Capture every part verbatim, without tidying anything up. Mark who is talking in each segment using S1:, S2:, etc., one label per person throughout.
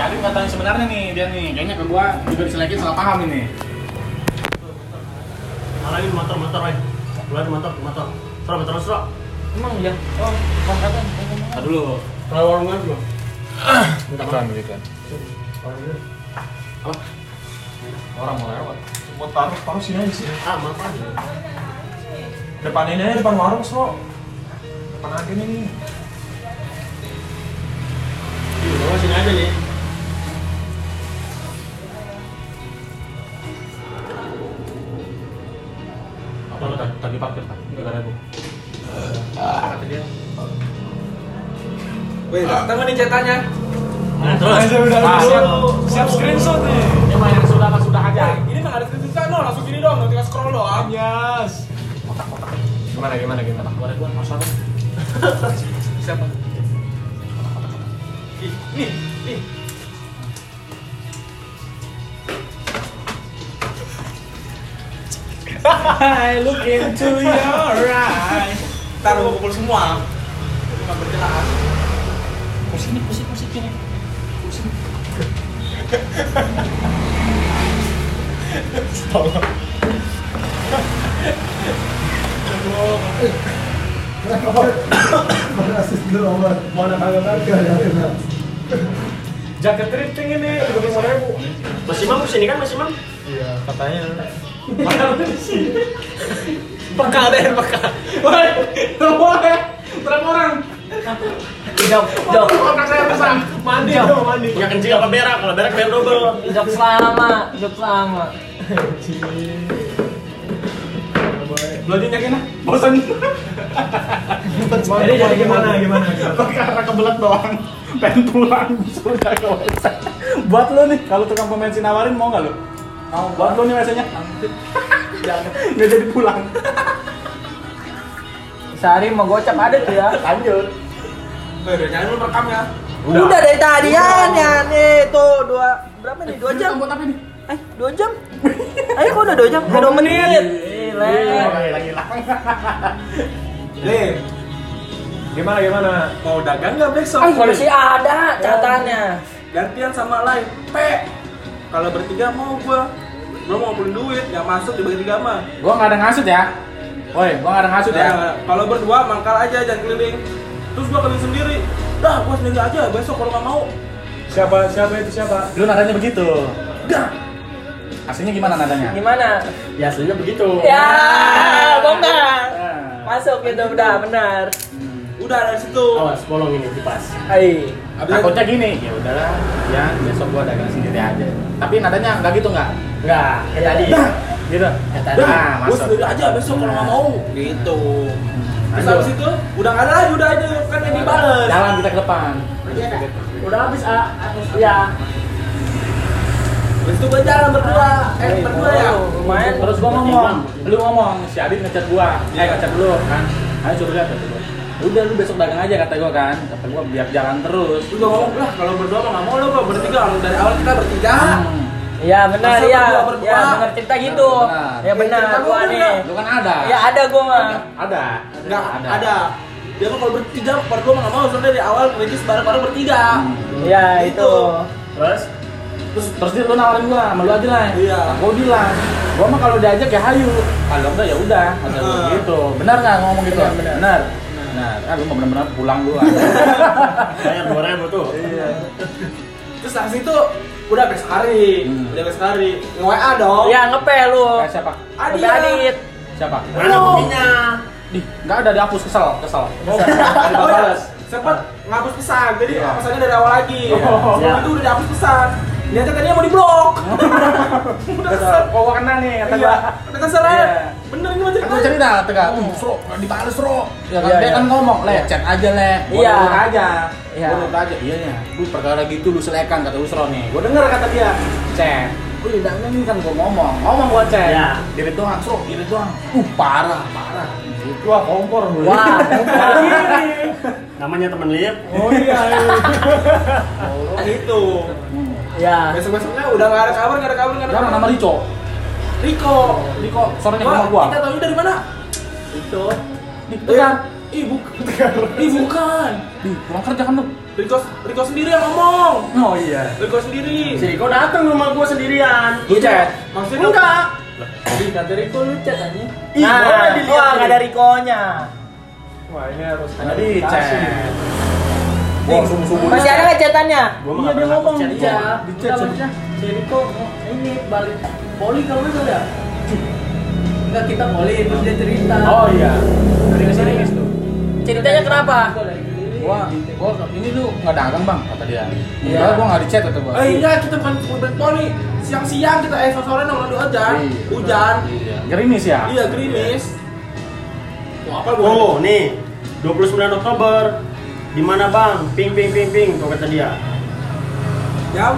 S1: Adit katanya sebenarnya nih dia nih, kayaknya ke gua juga diselekin salah paham ini.
S2: Lagi motor motor, weh. Keluar motor motor. Sro motor sro.
S3: Emang ya? Oh, kontrakan.
S1: Tar dulu.
S2: Kalau warungan belum?
S1: Minta kan gitu kan. Apa? Orang mau lewat.
S4: Buat taruh, taruh sini aja sih.
S2: Ah, maaf aja.
S4: Depan ini aja, depan warung, so. Depan agen ini.
S2: Ih, bawa sini aja nih.
S1: Apa lu tadi tadi parkir kan? Enggak ada gua. Kata dia.
S4: Weh, datang nih cetannya.
S2: Nah, terus.
S4: udah
S1: Ah,
S4: siap,
S1: siap.
S4: siap screenshot nih.
S1: Ini mah yang sudah mah sudah aja.
S4: Ini mah ada screenshot no, langsung gini dong, tinggal scroll doang. Yes.
S1: Gimana gimana gimana? Gua ada gua masalah.
S4: Siapa? Ih, nih, nih.
S1: I look into your eyes.
S4: Taruh kumpul semua. Ini nggak berjelas.
S1: Pusing pusing pusing ini. Pusing.
S4: Tolong. Jaket thrifting ini tiga puluh ribu.
S2: Mas Imam kesini kan Mas Imam?
S4: Iya, katanya.
S2: Mana di sini?
S4: Peka deh, peka. Woi, berapa ya? Berapa orang?
S3: Jok, jok.
S4: Kontak saya pesan. Mandi dong, mandi.
S2: Ya kencing apa berak? Kalau berak bayar double.
S3: Jok selama, jok selama.
S4: Belajar yakin ah? Bosan.
S2: Jadi jadi gimana? Gimana?
S1: Karena kebelet doang. Pengen pulang sudah ke website. Buat lo nih, kalau tukang pom bensin nawarin mau nggak lo? Mau. Buat lo nih biasanya. Jangan, nggak jadi pulang.
S3: Sehari mau gocap ada tuh ya.
S1: Lanjut.
S4: Udah, jangan lu rekam ya.
S3: Udah, Udah dari tadi ya, nih tuh dua berapa nih? Dua jam.
S1: Buat apa nih?
S3: Eh, dua jam. Ayo kok udah dua jam? Eh, dua menit. Gile.
S1: Lagi hilang.
S4: Nih. Gimana gimana? Mau dagang nggak besok?
S3: Ah, masih ada catatannya.
S4: Gantian sama lain. P. Kalau bertiga mau gua. Gua mau ngumpulin duit, nggak masuk dibagi tiga mah.
S1: Gua nggak ada ngasut ya. Woi, gua nggak ada ngasut ya.
S4: Nah, kalau berdua mangkal aja jangan keliling. Terus gua keliling sendiri. Dah, gua sendiri aja besok kalau nggak mau. Siapa siapa itu siapa?
S1: Lu nadanya begitu. Dah. Aslinya gimana nadanya?
S3: Gimana?
S2: Ya aslinya begitu.
S3: Ya, bongkar.
S1: Nah.
S3: Masuk gitu udah benar.
S4: Udah dari situ.
S2: Awas, bolong ini kipas.
S3: Hai.
S1: Takutnya gini, ya udahlah, ya besok gua dagang sendiri aja. Tapi nadanya nggak gitu nggak?
S2: Enggak, kayak tadi.
S1: Dah, gitu.
S2: Kayak tadi.
S1: Nah,
S4: Gua
S1: masuk.
S4: sendiri aja besok kalau nggak mau. Gitu. Terus
S1: Lanjut.
S4: habis itu udah nggak ada lagi, udah aja kan yang dibales.
S1: Jalan kita ke depan.
S2: Udah habis ah. Ya.
S4: Terus itu gua jalan berdua. Eh, berdua ya.
S3: Lumayan.
S1: Terus gua ngomong, lu ngomong, si Adit ngechat gua, eh ngechat lu kan, ayo suruh lihat kata gua. Udah lu besok dagang aja kata gua kan, kata gua biar jalan terus.
S4: Terus gua ngomong lah kalau berdua mah nggak mau lo, gua bertiga. Kalau dari awal kita bertiga.
S1: Hmm.
S3: Iya benar
S4: Masa
S3: ya.
S4: berdua berdua?
S3: Ya benar cerita gitu.
S1: Benar.
S3: Ya benar
S4: Cerita
S3: gua
S4: gua
S3: nih.
S4: benar.
S1: Lu kan ada.
S3: Ya ada gua mah.
S1: Ada.
S4: Nggak ada. Dia mah kalau bertiga, berdua mah nggak mau. Soalnya dari awal ngerintis bareng-bareng bertiga.
S3: Ya itu.
S2: Terus
S1: Terus terus dia lu nawarin gua, sama lu aja lah.
S4: Iya.
S1: Gua bilang, gua mah kalau diajak ya hayu. Kalau enggak ya udah, kata gua
S4: Heeh.
S1: gitu. Benar enggak ngomong gitu?
S3: Benar, benar.
S1: Benar. Benar. Ah, lu mau benar-benar pulang dulu.
S2: bayar dua ribu tuh.
S4: Iya. Terus habis itu udah besok hari,
S1: Hmm.
S4: udah besok hari nge-W A dong.
S3: Ya ngepe lu.
S1: Kayak siapa?
S4: Adit.
S3: Ngepe Adit.
S1: Siapa?
S2: Mana buktinya?
S1: Di, enggak ada dihapus, kesel, kesel.
S4: Oh,
S1: Ada
S4: oh,
S1: balas.
S4: sempet ngapus pesan, jadi
S1: Iya.
S4: pesannya dari awal lagi.
S1: Oh.
S4: Sebelum itu udah dihapus pesan. Dia tadinya mau diblok. Udah kesel.
S1: Kok gua kena nih, kata
S4: Iya,
S1: gua.
S4: udah kesel
S1: Iya.
S4: ya. Bener ini mah
S1: Kan gua
S4: ceritanya.
S1: cerita, tegak, uh, Sro, dibales Sro. Ya kan,
S3: Iya,
S1: dia
S3: iya.
S1: kan ngomong, le, chat aja le. Gua
S3: Iya.
S1: nurut aja.
S3: Iya.
S1: Gua nurut aja, iya nya. Lu perkara gitu lu selekan, kata lu Sro nih. Gua denger kata dia, chat. Lu lidahnya nih kan gua ngomong, ngomong gua chat.
S2: Iya.
S1: Diri doang, Sro, diri doang. Uh, parah, parah. Gitu. Wah, kompor lu.
S3: Wah,
S2: Namanya temen lihat.
S4: Oh iya. Kan itu.
S3: ya.
S4: Besok-besoknya udah nggak ada kabar, nggak ada kabar, nggak ada
S1: Jangan
S4: kabar.
S1: nama Rico.
S4: Riko.
S1: Rico, sorenya ke
S4: Wah,
S1: rumah gua.
S4: kita tahu dari mana?
S2: Itu.
S1: Di Tegar.
S4: Ih, bukan. Ih, bukan.
S1: Di, pulang kerja kan lu.
S4: Riko, Riko sendiri yang ngomong.
S1: Oh iya.
S4: Riko sendiri.
S2: Si Riko datang ke rumah gua sendirian.
S1: Lu chat?
S4: Maksudnya
S2: Enggak.
S1: Tadi kata Riko lu chat aja.
S2: Ih,
S3: Nah,
S2: boleh dilihat
S3: wah
S2: nih.
S3: nggak ada Rikonya.
S4: Wah, ini harus
S1: Ada di chat. Gua subuh-subuh.
S3: Masih ada nggak chatannya?
S2: Gua
S1: Iya dia ngomong
S2: chat
S1: di
S2: dia.
S1: chat. Di chat
S2: Enggak, si Riko oh, ini balik poli kalau nggak salah ya. Enggak, kita poli terus dia cerita.
S1: Oh iya. Dari sini tuh.
S3: Ceritanya kenapa?
S1: Gua, gua ini lu nggak dagang bang kata dia.
S3: Iya.
S1: Iya. Gua nggak di chat kata gua.
S4: Eh iya, kita bukan mobil poli. Siang-siang kita eh sore nongkrong di hujan.
S1: Iya.
S4: Hujan.
S1: Iya. Gerimis ya.
S4: Iya, gerimis. Wah, apa gua?
S2: Oh, nih. dua puluh sembilan Oktober. Di mana, Bang? Ping ping ping ping tuh kata dia.
S4: Jam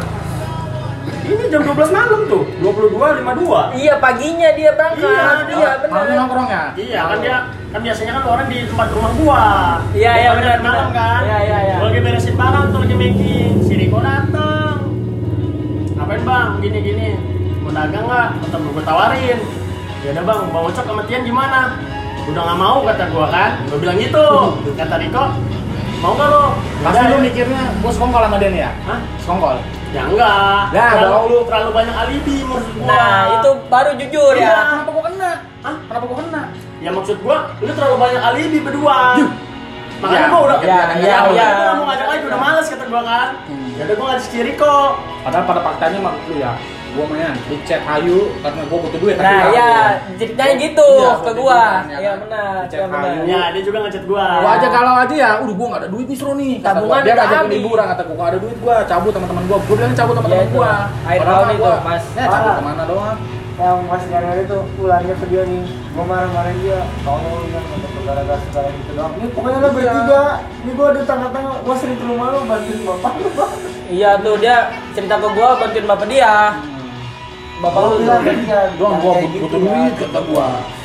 S2: Ini jam dua belas malam tuh. dua puluh dua lima puluh dua.
S3: Iya paginya dia berangkat.
S2: Iya,
S3: Iya,
S2: dia-
S1: Malam
S3: benar.
S1: nongkrong ya.
S2: Iya, kan dia kan biasanya kan orang di tempat rumah gua.
S3: Iya,
S2: Dia
S3: iya,
S2: pada
S3: benar,
S2: malam
S3: benar.
S2: kan.
S3: Iya, iya, iya.
S2: Gua lagi beresin barang tuh lagi making. Si Riko datang. Ngapain, Bang? Gini gini. Mau dagang nggak? Kata gua, gua tawarin. Ya udah, Bang, Bang Ocok sama Tian gimana? Udah nggak mau kata gua kan. Gua bilang gitu. Kata Riko, mau nggak lo?
S1: Pasti
S2: Udah,
S1: lu
S2: ya.
S1: mikirnya gua sekongkol sama dia nih ya.
S2: Hah?
S1: Sekongkol.
S2: Ya enggak.
S1: Ya,
S2: terlalu,
S1: bohong lu.
S2: terlalu banyak alibi maksud gua.
S3: Nah, itu baru jujur
S2: Iya.
S3: ya.
S1: Kenapa gua kena?
S2: Hah?
S1: Kenapa gua kena?
S2: Ya maksud gua, lu terlalu banyak alibi berdua. Makanya
S1: Ya,
S2: gua udah
S3: ya, ya, ya.
S2: Gua nggak mau ngajak lagi, udah males kata gua kan.
S1: Hmm.
S2: Ya udah gua ngajak si Riko.
S1: Padahal pada faktanya mah lu ya. Gua main di chat Ayu karena gua butuh duit.
S3: Nah,
S1: tapi
S3: ya
S1: aku-
S3: ceritanya gitu
S1: Iya,
S3: ke
S1: gua
S3: gua.
S1: bilang, ya
S3: Iya
S1: kan?
S3: benar,
S1: Cek
S3: iya benar.
S1: Ayu.
S2: Ya, dia juga ngechat gua.
S1: Gua aja kalau aja ya, udah gua nggak ada duit nih suruh nih. Kata
S3: Tabungan
S1: gua, dia
S3: udah
S1: ngajakin
S3: habis.
S1: liburan kata gua nggak ada duit gua cabut sama teman gua. Gua bilang cabut sama
S3: Iya,
S1: teman
S3: itu.
S1: gua.
S3: Akhir
S1: Padahal
S3: tahun
S1: mah
S3: itu,
S1: gua,
S3: Mas.
S1: Ya cabut
S3: Parah.
S1: kemana doang?
S5: Yang Mas Januari itu pulangnya ke dia nih, gue marah-marahin dia, tolong kan untuk gara-gara segala gitu doang. Ini pokoknya lo bertiga, ini gue di tengah-tengah, gue sering ke rumah lo bantuin bapak lo bang.
S3: Iya tuh dia cerita ke gua bantuin bapak dia. Bapak lu
S5: Lo
S3: tuh.
S5: bilang kan dia,
S1: Doang
S5: jangan
S1: gua
S5: kayak
S1: butuh,
S5: gitu
S1: butuh
S5: ya.
S1: duit kata gua.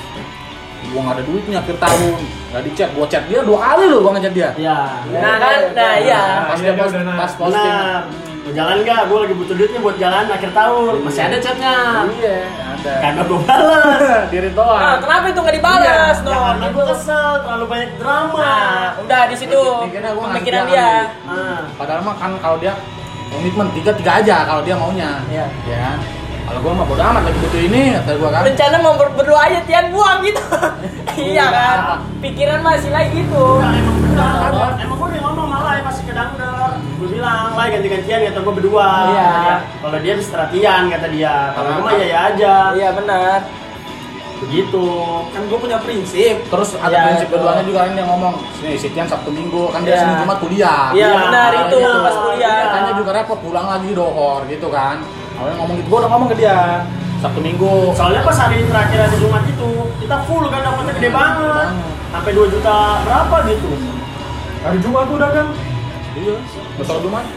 S1: Gua nggak ada duitnya akhir tahun. Nggak di chat, gua chat dia dua kali loh gua ngechat dia.
S2: Ya.
S3: Nah kan, nah iya.
S1: Pas
S4: iya,
S1: dia post,
S4: udah, nah.
S1: pas posting.
S2: Benar. Mau jalan nggak? Gua lagi butuh duitnya buat jalan akhir tahun. Masih ada chatnya.
S1: Iya, ada.
S2: Karena gua balas.
S1: Diri
S3: Nah,
S1: doang.
S3: kenapa itu nggak dibalas
S2: Ya,
S3: dong?
S2: karena gua kesel, terlalu banyak drama.
S3: Nah, udah di situ
S1: Mikirnya gua ngasih
S3: pemikiran
S1: dia
S3: dia.
S1: kali.
S2: Ah.
S1: Padahal mah kan kalau dia komitmen tiga tiga aja kalau dia maunya.
S3: Iya.
S1: Ya kan? Kalau gua mah bodo amat lagi butuh ini kata gua kan.
S3: Rencana mau ber- berdua aja Tian buang gitu. Iya kan? Pikiran masih lagi gitu.
S2: Nah, emang benar. Emang gue udah ngomong malah ya masih kedangdar. Gue bilang, lah ganti-gantian kata gue berdua.
S3: Iya.
S2: Kata dia. Kalau dia bisa latihan kata dia. Kalau gue mah ya ya aja.
S3: Iya benar.
S2: Begitu.
S4: kan gue punya prinsip.
S1: Terus ada
S3: Iya,
S1: prinsip
S3: itu.
S1: keduanya juga kan dia ngomong, sini Sitian Sabtu Minggu kan dia
S3: Iya.
S1: Senin Jumat kuliah.
S3: Iya
S2: Iya,
S3: benar itu
S2: iya.
S3: pas kuliah.
S1: Katanya juga repot pulang lagi dohor gitu kan. Awalnya ngomong gitu, gua udah ngomong ke dia Sabtu Minggu.
S2: Soalnya pas hari terakhir ada Jumat itu, kita full kan dapatnya gede banget. Sampai dua juta berapa gitu.
S4: Hari Jumat tuh udah kan.
S1: Iya, betul Jumat.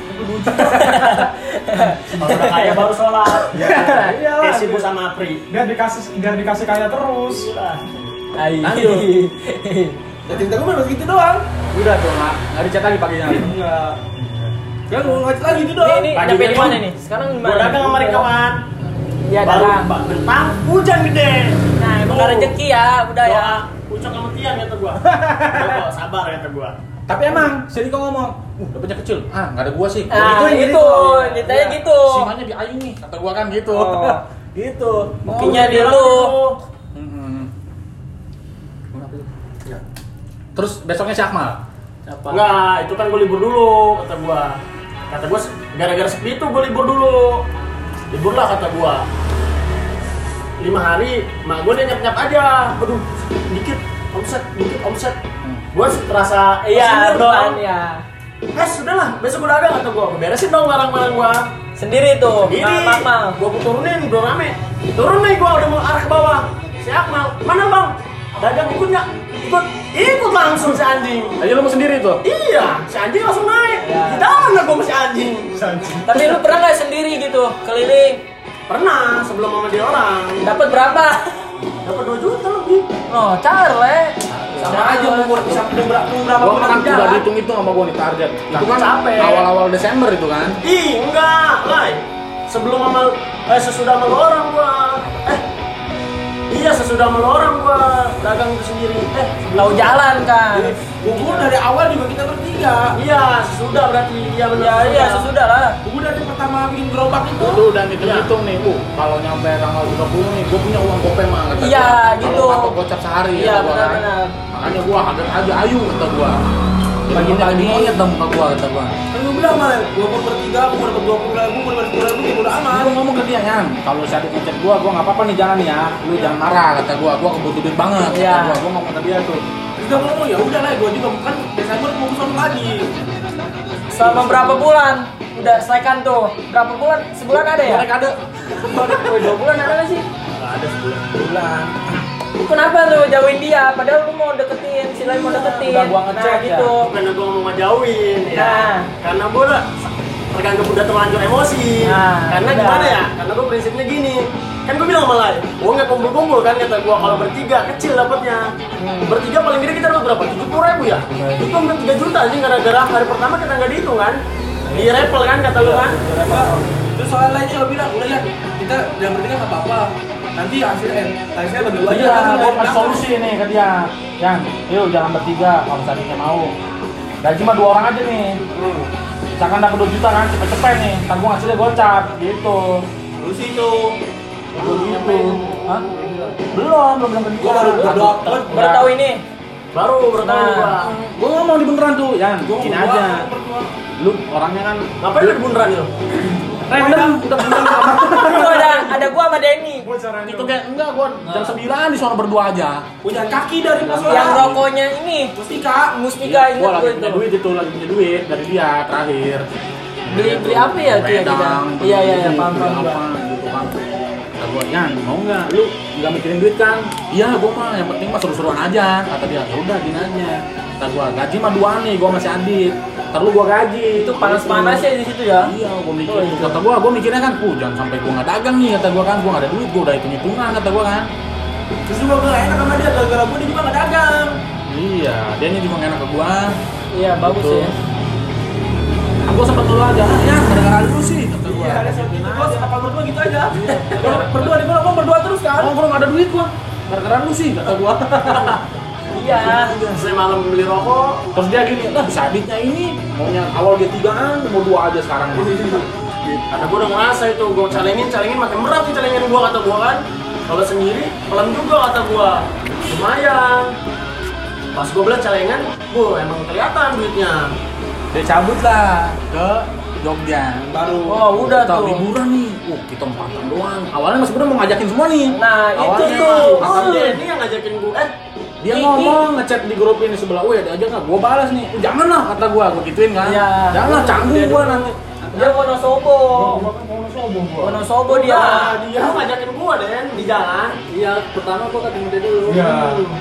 S2: Kalau udah kaya baru sholat.
S4: Iya lah.
S2: Kayak sibuk sama Apri.
S4: Biar dikasih biar dikasih kaya terus.
S2: Gila.
S3: Ayo.
S4: Ya cerita gue baru gitu doang.
S1: Udah tuh nggak nggak dicat lagi paginya.
S4: Enggak. Kan gue ngajak lagi gitu
S3: Ini
S4: doang.
S3: ini
S2: Pagi
S3: nyampe di
S2: dia
S3: mana
S2: tuh,
S3: nih? Sekarang di
S2: Gue
S3: mana?
S2: dagang sama mereka kawan.
S3: Iya
S2: Baru
S3: dagang.
S2: ba- bentang hujan gede.
S3: Nah, emang nggak rezeki ya, udah ya.
S2: Doa, Ucok sama Tian kata gua. Udah kok, sabar kata gua.
S1: Tapi emang si Riko ngomong, uh dapetnya kecil. Ah nggak ada gua sih.
S3: Nah,
S1: yang
S3: itu,
S1: Riko.
S3: ceritanya
S1: Iya.
S3: gitu.
S1: Simanya di Ayu nih, kata gua kan gitu.
S3: Oh.
S1: gitu.
S3: Buktinya
S2: Oh,
S3: di
S2: bilang
S3: lu.
S2: gitu.
S1: Mm-mm. Kenapa itu? Terus besoknya si Akmal.
S3: Siapa?
S2: Enggak, itu kan gua libur dulu kata gua. Kata gua gara-gara sepi itu gua libur dulu. Libur lah kata gua. Lima hari, mak gua dia nyap-nyap aja. Aduh, dikit omset, dikit omset. Gua terasa
S3: Iya,
S2: senior
S3: kan ya.
S2: Eh, sudahlah, besok gua dagang kata gua. Gua beresin dong barang-barang gua.
S3: Sendiri tuh,
S2: Sendiri.
S3: Nah, Akmal.
S2: Gua turunin, udah rame. Turun nih gua udah mau arah ke bawah. Si Akmal, mana bang? Dagang ikut nggak? Ikut, ikut langsung si anjing.
S1: Aja lu mau sendiri tuh.
S2: Iya, si anjing langsung naik.
S3: Ya.
S2: Di mana gua masih anjing?
S3: Tapi lu pernah nggak sendiri gitu keliling?
S2: Pernah sebelum sama dia orang.
S3: Dapat berapa?
S2: Dapat dua juta lebih.
S3: Oh, Charle.
S4: Sama aja umur bisa berapa berapa
S1: Gua
S4: bulan
S1: kan
S4: jalan.
S1: udah dihitung-hitung sama gua nih target. Itu kan
S2: Capek.
S1: awal-awal Desember itu kan.
S2: Ih, enggak, Lai. Sebelum sama eh sesudah sama lu orang gua. Eh. Iya, sesudah mulu orang gua dagang itu sendiri. Eh,
S3: Tahu jalan kan.
S4: Bubur dari awal juga kita bertiga.
S2: iya, sesudah berarti. Iya benar.
S3: Ya iya sesudah lah.
S4: Bubur dari pertama bikin gerobak itu.
S1: Itu udah hitung-hitung nih, uh, kalau nyampe tanggal tiga puluh nih, gue punya uang gopeng mah kata
S3: Iya,
S1: gua.
S3: gitu.
S1: Kalau atau gocap sehari
S3: Iya
S1: kata gua kan.
S3: benar-benar.
S1: Makanya gua ada aja ayu kata gua.
S6: Bagi bagi monyet dong muka gua kata gua.
S4: Kan gue bilang malah, walaupun bertiga aku dapat dua puluh ribu, gue dapat sepuluh ribu, ya udah aman.
S1: Gua ngomong ke dia kan, kalau si Adit ngechat gua, gua nggak apa-apa nih jalan ya, lu jangan marah kata gua, gua kebutuh duit banget kata
S3: Iya.
S1: gua, gua ngomong ke dia tuh.
S4: Terus dia ngomong ya udah lah, gue juga bukan Desember mau kesana lagi.
S3: Selama berapa bulan? Udah selesaikan tuh. Berapa bulan? Sebulan ada ya?
S1: Mereka ada.
S3: Woi, dua bulan ada nggak sih?
S2: Nggak ada sebulan.
S1: Bulan.
S3: Kenapa lu jauhin dia? Padahal lu mau deketin, si lain mau deketin.
S1: Udah gua ngecek
S3: nah,
S1: ya.
S3: gitu.
S2: Karena gua mau ngejauhin ya.
S3: Nah.
S2: Karena gua udah terganggu udah terlanjur emosi.
S3: Nah,
S2: Karena
S3: udah.
S2: gimana ya? Karena gua prinsipnya gini. Kan gua bilang sama Lai, uangnya kumpul-kumpul kan kata gua kalau bertiga kecil dapatnya.
S3: Hmm.
S2: Bertiga paling gede kita dapat berapa? tujuh puluh ribu ya? Itu hampir tiga juta aja gara-gara hari pertama kita nggak dihitung kan. Di repel kan kata lu kan.
S4: Terus soal lainnya lo bilang, udah ya kita yang bertiga nggak apa-apa. Nanti hasilnya, hasilnya bagi dua aja.
S1: Iya,
S4: Hasilnya
S1: gua
S4: dari
S1: kasih
S4: belakang.
S1: solusi nih ke dia. Yang, yuk jangan bertiga kalau tadinya mau. Gaji mah dua orang aja nih.
S4: Hmm.
S1: Misalkan dapat dua juta kan, cepet-cepet nih. Ntar gua hasilnya gocap, gitu.
S4: Terus itu,
S1: Gua gitu. Hah? Belum, belum bilang ke dia.
S4: Gua baru berdoa.
S3: Baru tahu ini.
S2: Baru bertahu
S3: Nah.
S2: gua.
S1: Gua ngomong di beneran tuh, Yan,
S4: Gua
S1: gini
S4: mau
S1: aja.
S4: berdua.
S1: Lu orangnya kan
S2: Ngapain lu di bundaran itu?
S1: random, udah beneran sama.
S3: Itu ada ada gua sama Denny.
S1: Itu kayak enggak, gua jam sembilan di sono berdua aja.
S4: Punya kaki dari pos
S3: Yang rokoknya ini
S4: Mustika.
S3: Mustika
S1: Iya,
S3: ingat
S1: gua
S3: gua
S1: lagi
S3: itu.
S1: punya duit itu, lagi punya duit dari dia terakhir.
S3: Beli beli apa ya tuh ya kita?
S1: Wedang,
S3: Iya iya iya
S1: beli
S3: paham paham gua.
S1: apa gitu kan. Kata gua, Yan, mau nggak? Lu nggak mikirin duit kan? Iya, gua mah yang penting mah seru-seruan aja. Kata dia, ya udah gini aja. Kata gua, gaji mah dua nih, gua masih Adit. Ntar lu gua gaji.
S3: Itu panas-panas ya di situ ya.
S1: Iya, gua mikir.
S3: Oh, itu.
S1: Kata gua, gua mikirnya kan, uh jangan sampai gua nggak dagang nih. Kata gua kan, gua nggak ada duit, gua udah hitung-hitungan. Kata gua kan.
S4: Terus juga gue enak sama dia, gara-gara gue dia juga nggak dagang.
S1: Iya, dia nya juga nggak enak ke gua.
S3: Iya bagus
S1: Gitu.
S3: ya.
S1: Gua sempet ngeluh aja, ah, ya gara-gara lu sih. Kata gua.
S4: Iya, ada satu itu bos, apa berdua gitu aja. Kalau berdua di gua, berdua terus kan.
S1: Oh, gua nggak ada duit gua. Gara-gara lu sih, kata gua.
S3: Iya.
S2: Saya malam beli rokok.
S1: Terus dia gini, lah bisa Aditnya ini maunya awal dia tigaan, mau dua aja sekarang.
S2: Karena gue udah ngerasa itu, gue calengin, calengin makin berat nih calengin gue kata gue kan. Kalau sendiri, pelan juga kata gue. Lumayan. Pas gue bilang calengan, gue emang kelihatan duitnya.
S6: Dia cabut lah ke Jogja.
S4: Baru.
S3: Oh udah
S1: Kita
S3: tuh.
S1: liburan nih, uh kita empatan doang. Awalnya Mas Bro mau ngajakin semua nih.
S3: Nah itu
S1: Awalnya,
S3: tuh.
S1: Kata
S2: Oh,
S1: dia,
S2: ini yang ngajakin gue, eh
S1: dia
S3: Ini-
S1: ngomong ngechat di grup ini sebelah, weh ada aja nggak? Gua balas nih, "Uh, jangan lah kata gua, gua gituin kan.
S3: Iya.
S1: Jangan lah, canggung gua nanti.
S3: Dia Wonosobo.
S1: Gua.
S3: Wonosobo dia.
S2: Nah, dia ngajakin gue Den, di jalan.
S1: Iya, pertama gua ketemu dia dulu.
S5: Iya.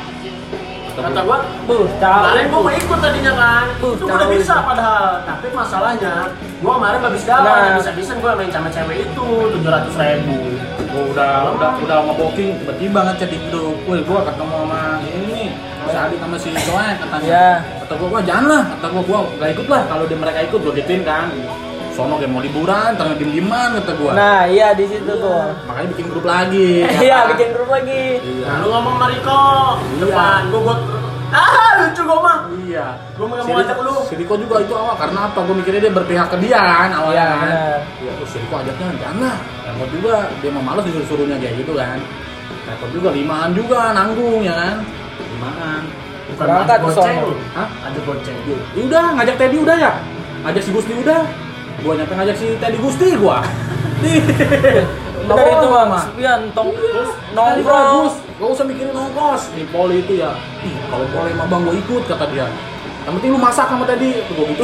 S2: Kata gue,
S3: Tuh,
S2: kemarin gue
S3: tahu.
S2: mau ikut tadinya kan.
S3: Tuh,
S2: Itu gue udah
S3: tahu
S2: bisa
S3: itu.
S2: padahal. Tapi masalahnya, gue kemarin habis jalan,
S3: Nah.
S2: bisa-bisa gue main sama cewek itu tujuh ratus ribu.
S1: Gua udah udah udah nge-booking, tiba-tiba ngechat di grup. Woi, gua ketemu sama ini nih. Si Adit sama si Joen katanya.
S3: Iya.
S1: Kata gua, gua jangan lah. Kata gua, gua nggak ikut lah. Kalau dia mereka ikut, gua gituin kan. Sono kayak mau liburan, ternyata diem-dieman kata gua.
S3: Nah iya di situ tuh.
S1: Makanya bikin grup lagi.
S3: Iya bikin grup lagi.
S1: Iya.
S2: Nah, lu ngomong sama Riko,
S1: Iya.
S2: depan gue buat ah lucu gue mah.
S1: Iya.
S2: Gua mau
S1: Si
S2: ngajak
S1: Riko-
S2: lu.
S1: Si Riko juga itu awal karena apa? Gua mikirnya dia berpihak ke dia kan awalnya
S3: Iya,
S1: kan.
S3: benar.
S1: Iya, terus si Riko ajaknya jangan lah. Repot juga, dia mau males disuruh-suruhnya kayak gitu kan. Repot juga, limaan juga nanggung ya kan. Limaan.
S2: Bukan
S3: Berangkat
S2: ada
S3: ke
S2: goceng.
S3: sono.
S1: Hah?
S2: Ada goceng.
S1: Ya udah, ngajak Teddy udah ya. Ngajak si Gusti udah. Gua nyampe ngajak si Teddy Gusti gua.
S3: Bener itu bang. Sepian tong
S1: Nongkrong.
S3: nongkrong.
S1: Gak usah mikirin nongkos. Di Poli itu ya. Ih, kalau boleh mah Bang gua ikut kata dia. Yang penting lu masak sama Teddy. Tuh gua gitu.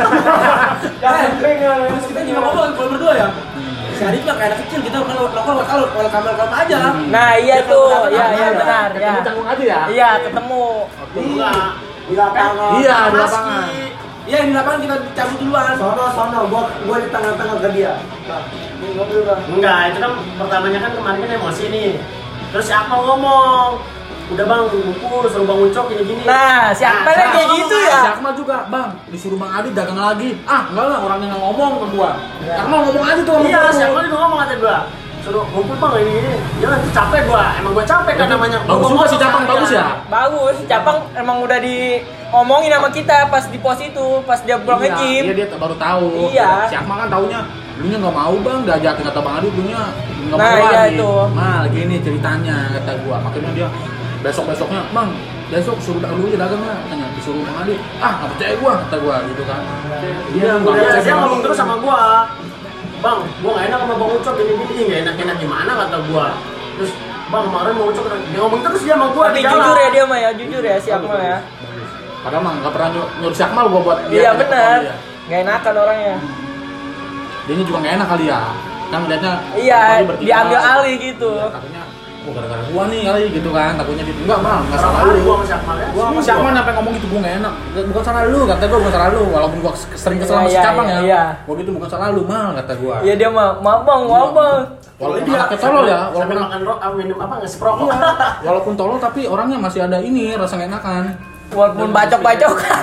S4: Terus kita juga ngomong kalau berdua ya. Si Adit mah kayak anak kecil, kita kalau kalau kalau kalau kamar kamar aja.
S3: Nah iya tuh. Iya iya benar ya.
S1: Ketemu canggung aja ya.
S3: Iya ketemu.
S2: Enggak.
S5: Di lapangan.
S1: Iya, di
S2: Maski.
S1: lapangan.
S4: Iya di lapangan kita cabut duluan.
S5: Sono sono gua gua di tengah-tengah ke dia. Nah, ini mobil bang.
S2: Enggak, itu kan pertamanya kan kemarin kan emosi nih. Terus si Akmal ngomong, udah bang, bubur, suruh bang Ucok gini-gini.
S3: Nah si Akmal
S2: Nah,
S3: kayak gitu ya.
S1: Si Akmal juga, Bang, disuruh Bang Adit dagang lagi. Ah, enggak lah, orangnya nggak ngomong ke gua. Akmal ngomong aja tuh sama
S2: Iya,
S1: gua.
S2: si Akmal juga ngomong kata gua. suruh ngumpul bang ini ini. Jangan tuh capek gua, emang gua capek kan namanya.
S1: Bagus juga si Capang, bagus ya.
S3: Bagus, Capang emang udah diomongin sama kita pas di pos itu, pas dia pulang
S1: Iya,
S3: nge-gym.
S1: iya dia baru tahu.
S3: Iya.
S1: Si Akmal kan taunya, dulunya nggak mau bang, diajakin kata Bang Adi, dulunya nggak
S3: Nah,
S1: mau
S3: iya
S1: lagi.
S3: itu.
S1: Mal, gini ceritanya kata gua, makanya dia besok besoknya, bang, besok suruh dulu aja dagang lah, katanya disuruh Bang Adi, ah nggak percaya gua kata gua gitu kan.
S2: Iya,
S1: nggak
S2: dia,
S1: percaya
S2: dia
S1: sama
S2: ngomong
S1: gua.
S2: terus sama gua. Bang, gua nggak enak sama Bang Ucok gini gini, nggak enak enak gimana kata gua. Terus Bang kemarin Bang Ucok dia ngomong terus dia sama gua.
S3: Tapi
S2: di jalan.
S3: jujur ya dia mah ya, jujur ya si Akmal ya.
S1: Padahal mah nggak pernah nyuruh, nyuruh si Akmal gua buat dia
S3: Iya
S1: ketemu
S3: benar.
S1: dia.
S3: Gak enakan orangnya.
S1: Dianya juga nggak enak kali ya, kan ngeliatnya
S3: Iya,
S1: Bang Adi bertiga.
S3: diambil alih gitu.
S1: Iya, katanya, oh gara-gara gua nih kali gitu kan, takutnya gitu. Enggak mal, nggak salah
S2: Berapa kali
S1: lu.
S2: gua sama si Akmal ya?
S1: Gua sama si Akmal sampai ngomong gitu, gua nggak enak. Bukan salah lu, kata gua bukan salah lu. Walaupun gua sering kesel sama
S3: Iya,
S1: si
S3: iya,
S1: Capang
S3: iya,
S1: ya.
S3: iya.
S1: Gua gitu bukan salah lu, mal kata gua.
S3: Iya dia mah, maaf bang, maaf bang.
S1: Walaupun
S2: Dia
S1: anaknya tolol ya,
S2: sampai
S1: walaupun
S2: makan ro- ah, minum apa nggak seprokok.
S1: Iya, walaupun tolol tapi orangnya masih ada ini rasa nggak enakan.
S3: Walaupun bacok-bacokan.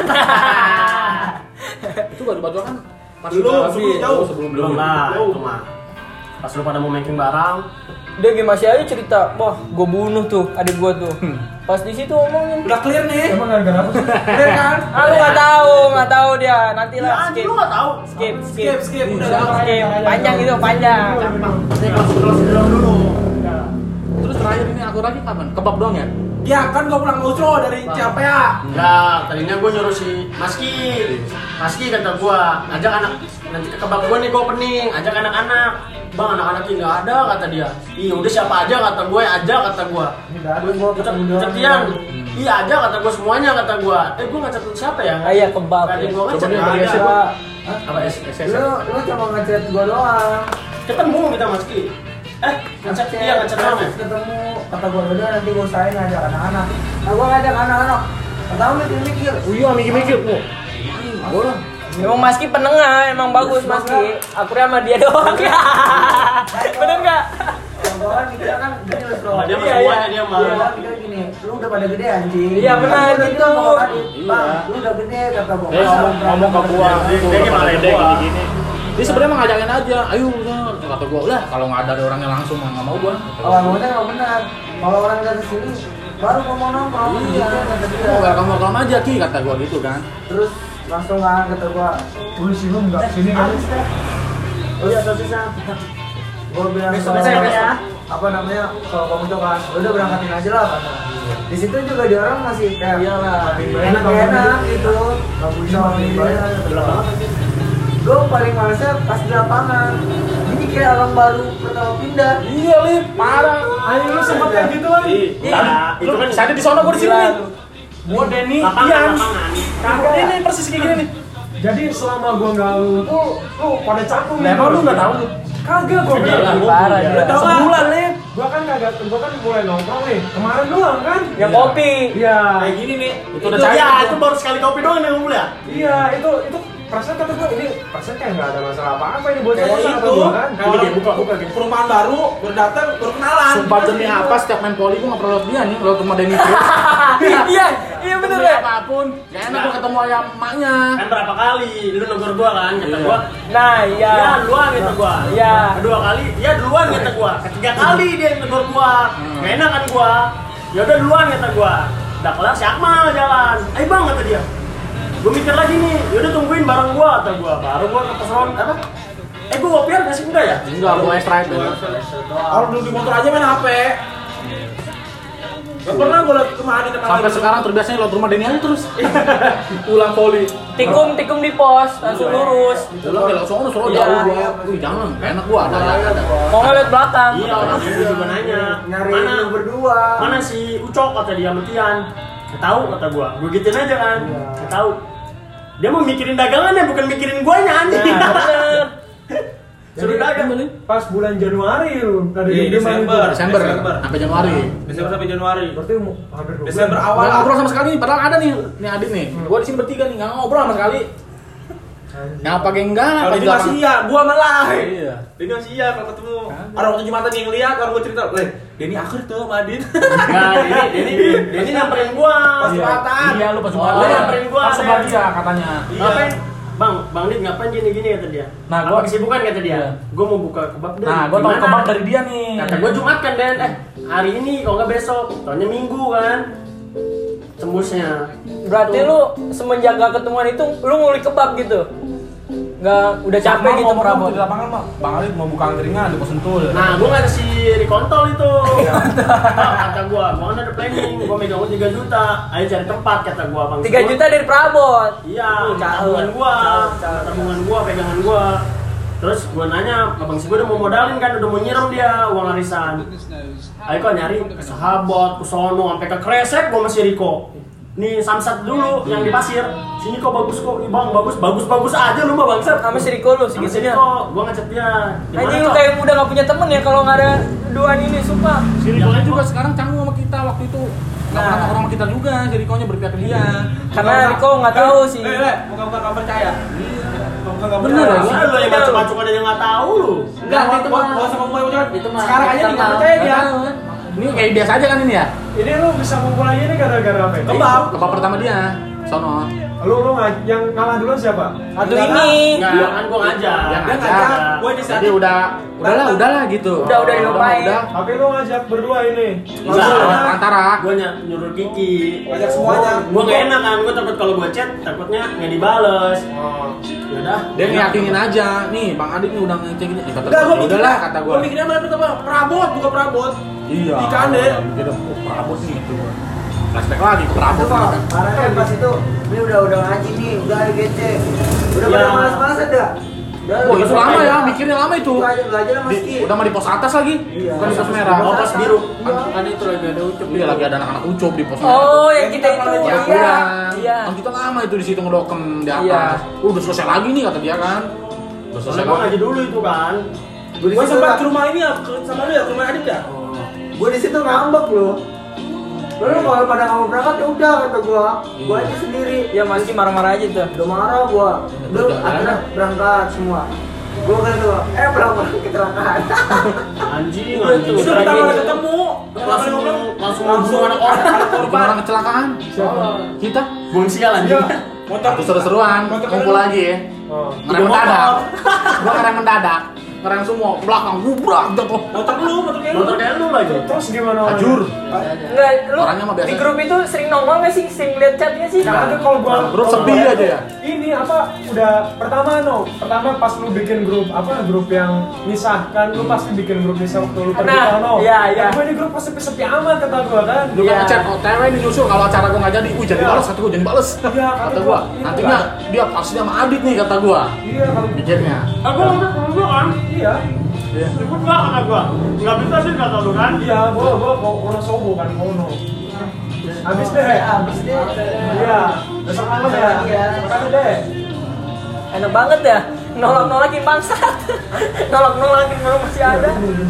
S1: Itu gak dibacokan pas
S4: Belum,
S1: udah
S4: sebelum
S1: habis.
S4: jauh.
S1: Oh, sebelum
S2: Belum
S1: belum.
S2: lah, itu mah. Pas lu pada mau making barang,
S3: Dia gak masih aja cerita, wah gue bunuh tuh adik gue tuh. Pas di situ ngomongin.
S4: Udah clear nih.
S5: Emang gara-gara apa sih?
S4: Clear kan?
S3: Ah lu nggak tahu, nggak tahu dia. Nanti
S2: ya
S3: lah
S2: anjing
S3: skip,
S2: lu nggak tahu.
S3: skip, skip,
S4: Skip, skip. Udah
S3: skip. Panjang itu panjang.
S2: Saya kelas kelas dulu dulu.
S1: Terus terakhir ini aku lagi kapan? Kebab doang ya?
S4: Ya kan gua pulang ngutro dari Ciampea.
S2: Enggak, tadinya gue nyuruh si Maski. Maski kata gua, ajak anak nanti ke kebab gua nih gua opening, ajak anak-anak. Bang, anak-anaknya nggak ada kata dia. Iya udah siapa aja kata gue, ajak kata gua.
S5: Nggak ada, gua ketemu doang.
S2: Cetian. Iya aja kata gua semuanya kata gua. Eh gua nggak catat siapa ya?
S3: Ah, iya, kebab.
S2: Tadi gua
S1: Coba
S2: ngechat
S1: dia
S2: nggak
S1: dari
S2: ada.
S1: S M A.
S5: Hah?
S1: Apa S S S?
S5: Lu, lu cuma ngechat gua doang.
S2: Ketemu kita Maski. Eh, ngechat iya ngechat doang ya?
S5: Ketemu, kata gua udah nanti gua usahain ngajak anak-anak. Nah, gua ngajak anak-anak. Tahu mikir-mikir.
S1: Oh iya, mikir-mikir. Oh, boleh.
S3: Emang Maski penengah, emang bagus Maski. Aku sama dia doang ya. Bener nggak?
S5: Yang gua kan mikirnya kan gini loh, bro.
S2: Nah, dia mah
S3: Iya,
S2: semuanya
S3: iya.
S2: dia mah.
S5: Iya, kan mikirnya gini, lu udah pada gede anjing.
S3: Iya, benar,
S5: Kan gua udah
S3: gitu.
S5: bilang sama Adit,
S1: Iya.
S5: Bang, lu udah gede kata gua.
S1: Dia ngomong ngomong ke gua,
S2: Dia-
S1: tuh,
S2: dia
S1: udah
S2: gimana
S1: pada
S2: ya,
S1: gede
S2: gua?
S1: gini-gini. Dia sebenarnya mah ngajakin aja, ayo udah. Kata gua, udah kalau nggak ada orangnya langsung mah nggak mau gua.
S5: Oh, ngomongnya emang benar. Kalau orang dari sini baru mau mau nongkrong,
S1: Iya,
S5: kata dia.
S1: mau welcome welcome aja ki kata gua gitu kan.
S5: Terus langsung kan kata gua, "Lu sih lu enggak sini kan?"
S2: Oh iya, sosisnya.
S5: Gua bilang
S2: Besok-
S5: kalau-
S2: besok ya.
S5: apa namanya? Kalau kamu tuh kan, udah berangkatin aja lah kata. Di situ juga dia orang masih kayak enak enak gitu. Enggak bisa bayar. Gue paling malesnya pas di lapangan. Ini kayak orang baru pertama pindah.
S1: Iya, Lip, parah.
S5: Ayo lu sempat kayak gitu kan?
S2: Iya, itu kan
S1: Saya di sono, gua di sini.
S5: Gua Denny,
S2: lapangan,
S5: Ian.
S2: lapangan.
S5: Kagak.
S1: Ini persis kayak gini nih.
S5: Jadi selama gua nggak lu tuh, lu pada cakung.
S1: Nah, emang lu nggak tahu lu?
S5: Kagak gua
S2: Iya,
S5: bilang.
S3: Parah dia.
S5: Tahu nggak?
S1: Sebulan, Lip.
S5: Gua kan kagak, gua kan mulai nongkrong nih. Kemarin doang kan?
S3: Yang kopi.
S5: Iya.
S2: Kayak gini nih.
S1: Itu udah cair,
S2: ya,
S1: itu.
S2: itu baru sekali kopi doang yang ngumpul ya.
S5: Iya, itu itu perasaan kata gua ini perasaan kayak nggak ada masalah apa-apa ini buat
S4: Kayak
S5: saya kata
S4: itu.
S5: gua kan.
S1: Kalau dia buka buka gitu.
S4: Perumahan baru, baru datang, baru kenalan.
S1: Sumpah demi apa setiap main poli gua nggak pernah lihat dia nih, lewat rumah Denny terus.
S3: Iya, iya bener
S1: Demi
S3: ya.
S1: apapun, gak enak gua ketemu ayam emaknya.
S2: Kan berapa kali lu negor gua kan, kata
S1: Iya.
S2: gua.
S3: Nah, iya.
S2: Ya duluan kata gua.
S3: Iya.
S2: Kedua kali, ya duluan kata gua. Ketiga kali dia yang negor gua. Gak enak kan gua. Ya udah duluan kata gua. Udah kelar si Akmal jalan. Ayo bang kata dia. Gua mikir lagi nih, yaudah tungguin bareng gua kata gua. Baru gua ke pos ron apa? Eh gua ngopian nggak sih enggak ya?
S1: Enggak, gua extra itu.
S4: Kalau duduk di motor aja main H P. Gak pernah gue liat kemana di tempat
S1: Sampai
S4: lain.
S1: sekarang terbiasanya lewat rumah Denny aja terus. Pulang poli.
S3: Tikung, tikung di pos, langsung lurus.
S1: Pulang ya langsung sono
S3: Iya.
S1: jauh gua. Wih, jangan, gak enak gua ada ada.
S3: Mau ngeliat belakang.
S2: Iya orang itu juga nanya.
S5: Nyari
S2: Mana?
S5: lu berdua.
S2: Mana si Ucok kata dia sama Tian. Gak tahu kata gua. Gua gituin aja kan. Gak tahu. Dia mau mikirin dagangannya bukan mikirin guanya anjing.
S3: Nah, bener.
S2: Suruh dagang.
S5: Pas bulan Januari lu dari
S4: Iya,
S5: Denny
S4: Desember.
S1: Desember
S4: Desember.
S1: sampai Januari.
S4: Desember sampai Januari.
S5: Berarti mau hampir dua
S4: Desember
S5: bulan.
S4: awal.
S1: Nggak ngobrol sama sekali nih, padahal ada nih, nih Adit nih. Gua di sini bertiga nih, nggak ngobrol sama sekali. Nggak pakai enggak,
S4: Kalau
S1: apa
S4: ini masih iya, gua malah.
S1: Iya.
S4: Denny masih iya kalau ketemu. Orang waktu Jumatan yang lihat, orang gua cerita, "Leh, Denny akhir tuh sama Adit."
S2: Nah, ini ini ini nyamperin gua.
S4: Pas Jumatan.
S1: Iya, lu pas
S2: Oh,
S1: Jumatan.
S2: lu nyamperin gua,
S1: Pas sebelah
S2: Ren.
S1: dia katanya.
S2: Ngapain? bang, bang Dit ngapain gini-gini kata dia.
S1: Nah,
S2: apa
S1: gua-
S2: kesibukan kata dia.
S1: Iya.
S2: Gue mau buka kebab dan.
S1: Nah, gue tau
S2: gimana?
S1: kebab dari dia nih.
S2: Kata gue Jumat kan Dan, eh hari ini kalau nggak besok, tahunnya Minggu kan. Tembusnya.
S3: Berarti lu semenjak gak ketemuan itu lu ngulik kebab gitu? Nggak, udah capek gitu perabot?
S4: Di lapangan mah, Bang Ali mau buka angkringan di Pos Sentul.
S2: Nah, gue nggak si Rikontol itu. Nah, kata gue, gue kan ada planning, gue megang uang tiga juta. Ayo cari tempat kata gue bang.
S3: tiga juta dari perabot?
S2: Iya,
S3: Uh,
S2: tabungan gue, tabungan gue, pegangan gue. Terus gue nanya, abang si gue udah mau modalin kan, udah mau nyiram dia uang arisan. Ayo kok nyari ke sahabat, ke sono, sampai ke Kresek gue masih Riko. Nih Samsat dulu yang di pasir. Sini kok bagus kok, Ih, bang bagus bagus bagus aja lu mah bangsat.
S3: Sama si Riko lu
S2: Sama si
S3: segitunya?
S2: Riko, gue ngechat dia. Gimana,
S3: Anjing lu
S2: Cok?
S3: kayak udah gak punya temen ya kalau nggak ada duaan ini, sumpah.
S1: Si Rikonya juga sekarang canggung sama kita waktu itu. Gak pernah nongkrong sama kita juga, si Rikonya berpihak ke dia.
S3: Karena Riko nggak tahu sih.
S4: Eh, eh, bukan-bukan nggak percaya. Bukan nggak
S1: Bener,
S4: percaya.
S1: ya?
S2: Lu lu yang macam-macam ada yang nggak tahu lu.
S4: Enggak, itu mah enggak usah ngomong macam. Sekarang aja nih nggak percaya dia.
S1: Ini kayak biasa aja kan ini ya?
S7: Ini lu bisa ngumpul lagi ini gara-gara apa?
S4: Kebab.
S1: Kebab pertama dia, sono.
S7: Lu lu nggak yang kalah duluan siapa?
S3: Atau ini?
S2: Enggak, kan gua ngajak.
S1: Dia
S4: Dia
S1: ngajak.
S4: ngajak, gue
S1: Jadi
S4: inisiatif.
S1: udah, udahlah, udahlah gitu.
S3: Udah, udah dilupain.
S1: Udah,
S7: Tapi lu ngajak berdua ini.
S2: Enggak,
S1: udah. Antara.
S2: Gua ny- nyuruh Kiki.
S4: Ngajak semuanya.
S2: Gua nggak enak kan, gua takut kalau gua chat takutnya nggak dibales.
S7: Oh.
S2: Yaudah.
S1: Dia ngeyakinin aja, nih Bang Adit nih udah ngecekin. Eh, kata
S4: Enggak,
S1: gua,
S4: gue mikirnya,
S1: udahlah kata gua.
S4: gue mikirnya malah pertama perabot, bukan perabot.
S1: Iya.
S4: Ikan deh.
S1: Mikirnya, oh, perabot nih itu. Flashback lagi, perabot.
S5: Itu kok,
S1: nih.
S5: karena kan pas itu ini udah udah ngaji nih, udah ayo gece. Udah
S2: Ya.
S5: pada malas-malasan dah. Udah,
S1: Oh, itu
S5: udah
S1: lama
S5: belajar.
S1: ya, mikirnya lama itu.
S5: Belajar belajar sama
S1: Di,
S5: Ski.
S1: udah mah di pos atas lagi,
S5: Iya.
S1: bukan di pos merah.
S2: Oh, pos biru.
S5: Iya.
S1: Kan itu lagi ada ucup. Iya, lagi ada anak-anak ucup di pos merah.
S3: Oh, yang kita itu.
S1: Ya,
S3: Iya.
S1: iya.
S3: Iya.
S1: Kan kita lama itu di situ ngedokem di atas.
S3: Iya.
S1: Uh, udah selesai lagi nih kata dia kan. Udah selesai
S2: Soalnya gua ngaji
S1: lagi.
S2: dulu itu kan.
S5: Gue di
S4: Gue
S5: situ
S4: sempat
S5: nggak-
S4: ke rumah ini ya, ke- sama lu ya, ke rumah Adit ya.
S5: gue di situ ngambek loh. Lu kalau pada nggak mau berangkat ya udah kata gua, gua aja sendiri.
S3: Ya Mas Ki marah-marah aja tuh.
S5: Udah marah gua. Lu
S1: Udah,
S5: akhirnya berangkat semua. Gua kan tuh, eh berangkat kecelakaan.
S2: Anjing,
S3: Iya,
S2: anjing.
S3: tuh.
S4: Sudah kita malah ketemu.
S2: langsung langsung
S4: langsung
S2: ngomong anak orang.
S1: Bikin orang kecelakaan. Kita
S2: Bung sial anjing.
S4: Motor
S1: Satu seru-seruan,
S4: Motor
S1: kumpul
S4: lu.
S1: lagi ya.
S7: Oh.
S1: Ngerem
S2: Tiga motor.
S1: mendadak. Gua ngerem mendadak. Ngerem semua, belakang gubrak jatuh.
S4: motor lu, motor kayak lu.
S2: Motor kayak lu lagi.
S7: Terus gimana? orangnya?
S1: Ajur.
S3: Enggak, lu
S1: Orangnya mah biasa.
S3: di grup itu sering nongol nggak sih? Sering lihat chatnya sih?
S7: Nah, itu kalau gua
S1: Grup
S7: kalau
S1: sepi
S7: gua-
S1: aja ya?
S7: Ini apa udah pertama no, pertama pas lu bikin grup apa grup yang misahkan lu pasti bikin grup misah waktu lu pergi
S3: Nah,
S7: no.
S3: iya, iya.
S7: Gua di grup pasti sepi amat kata gua kan.
S1: Lu
S3: Iya.
S1: kan ngechat, oh T W ini nyusul kalau acara gua nggak jadi, wih jadi
S7: Iya.
S1: balas, kata gua jadi bales.
S7: Iya, kata
S1: Kata
S7: gua,
S1: gua,
S7: iya.
S1: nantinya dia pasti sama Adit nih kata gua.
S7: Iya kalau
S1: Pikirnya.
S2: Aku ngomong sama gua kan.
S7: iya.
S2: Ribut nggak kata gua? Nggak bisa sih kata lu kan?
S7: Iya, gua gua mau kono sobo kan kono. Habis deh.
S5: Habis deh.
S7: Iya, besok malam ya.
S5: Iya.
S7: Makanya deh.
S3: Enak banget ya. Nolak-nolakin bangsat. Nolak-nolakin kalau masih ada.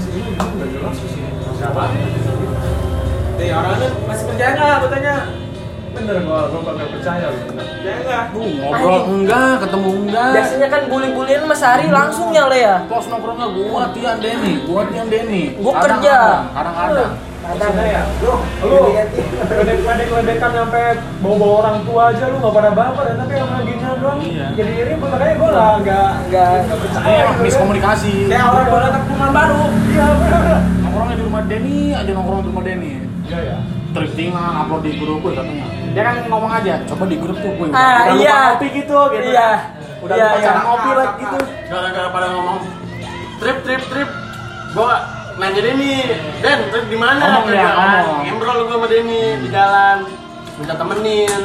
S4: Nih orangnya masih percaya nggak? Gue tanya.
S7: Bener gua gua bakal percaya gitu.
S4: Percaya nggak?
S1: Uh, ngobrol enggak, ketemu enggak.
S3: Biasanya kan bully-bullyan Mas Hari langsung ya Le ya.
S1: Pos nongkrongnya gua Tian Denny, gua Tian Denny.
S3: Gua
S1: Kadang
S3: kerja.
S1: ada, Kadang-kadang.
S7: Kadang ya.
S5: Lu,
S7: Lu
S5: lihat-lihat.
S7: ledek-ledekan sampai bawa-bawa orang tua aja lu nggak pada baper ya, tapi yang gini doang
S1: Iya.
S7: jadi ribut, makanya gua lah nggak
S3: Nggak.
S7: nggak percaya
S1: Iya,
S7: gitu kan.
S1: miskomunikasi.
S4: Kayak orang baru datang ke rumah baru.
S7: Iya bener.
S1: Nongkrongnya di rumah Denny, aja nongkrong di rumah Denny.
S7: Iya ya.
S1: Thriftingan, upload di grup gue katanya. Dia kan ngomong aja, coba di grup tuh gue.
S3: Ah,
S1: udah
S3: iya.
S1: lupa ngopi gitu, gitu.
S3: Iya.
S1: Udah
S3: Iya,
S1: lupa
S3: iya.
S1: cara ngopi lah gitu.
S2: Gara-gara pada ngomong trip trip trip. Gua nanya Denny, Den, trip di mana?
S1: Ngomong
S2: Kata
S1: ya,
S2: gua kan.
S1: ngomong.
S2: Ngobrol gua sama Denny di jalan. Minta temenin.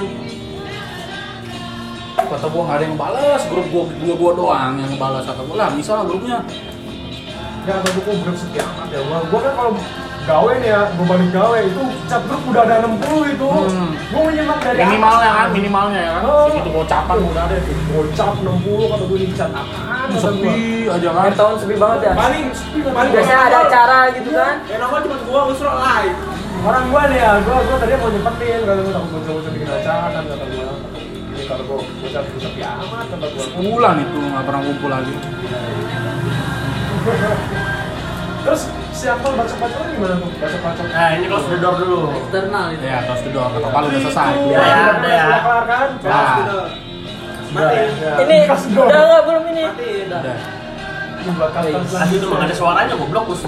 S1: Kata gue gak ada yang balas, grup gue dua dua doang yang balas. Kata gue lah, bisa lah grupnya.
S7: Nggak ada buku grup sepi amat ya. Gua, gua kan kalau gawe nih ya, gua balik gawe itu chat grup udah ada enam puluh itu.
S1: Hmm.
S7: Gua menyimak dari
S1: Minimalnya
S7: atas.
S1: kan, minimalnya ya kan.
S7: Oh.
S1: Segitu gocapan udah ada.
S7: Gocap enam puluh kata gua di chat apaan kata gua.
S1: Sepi aja kan.
S3: Akhir tahun sepi banget ya.
S4: Paling sepi paling.
S3: Biasanya ada acara gitu kan.
S4: Yang nongol cuma gua, lu suruh live.
S7: Orang gua nih ya, gua gua tadi mau nyempetin kalau gua takut bocah-bocah bikin acara kan kata gua. Ini kalau gua bocah sepi amat kata gua.
S1: Sebulan itu nggak pernah kumpul lagi.
S7: Terus si Akmal bacok-bacoknya gimana tuh? Bacok-bacok.
S2: Nah, ini close the door dulu.
S3: Eksternal itu.
S1: Ya, terus kedua kata Palu udah selesai.
S2: Ya, ya, udah ya.
S7: Udah kelar kan?
S1: Nah.
S4: Matiin.
S3: Ini udah nggak belum ini?
S4: Matiin.
S1: Udah.
S7: Buat custom
S2: Asli itu emang ada suaranya goblok.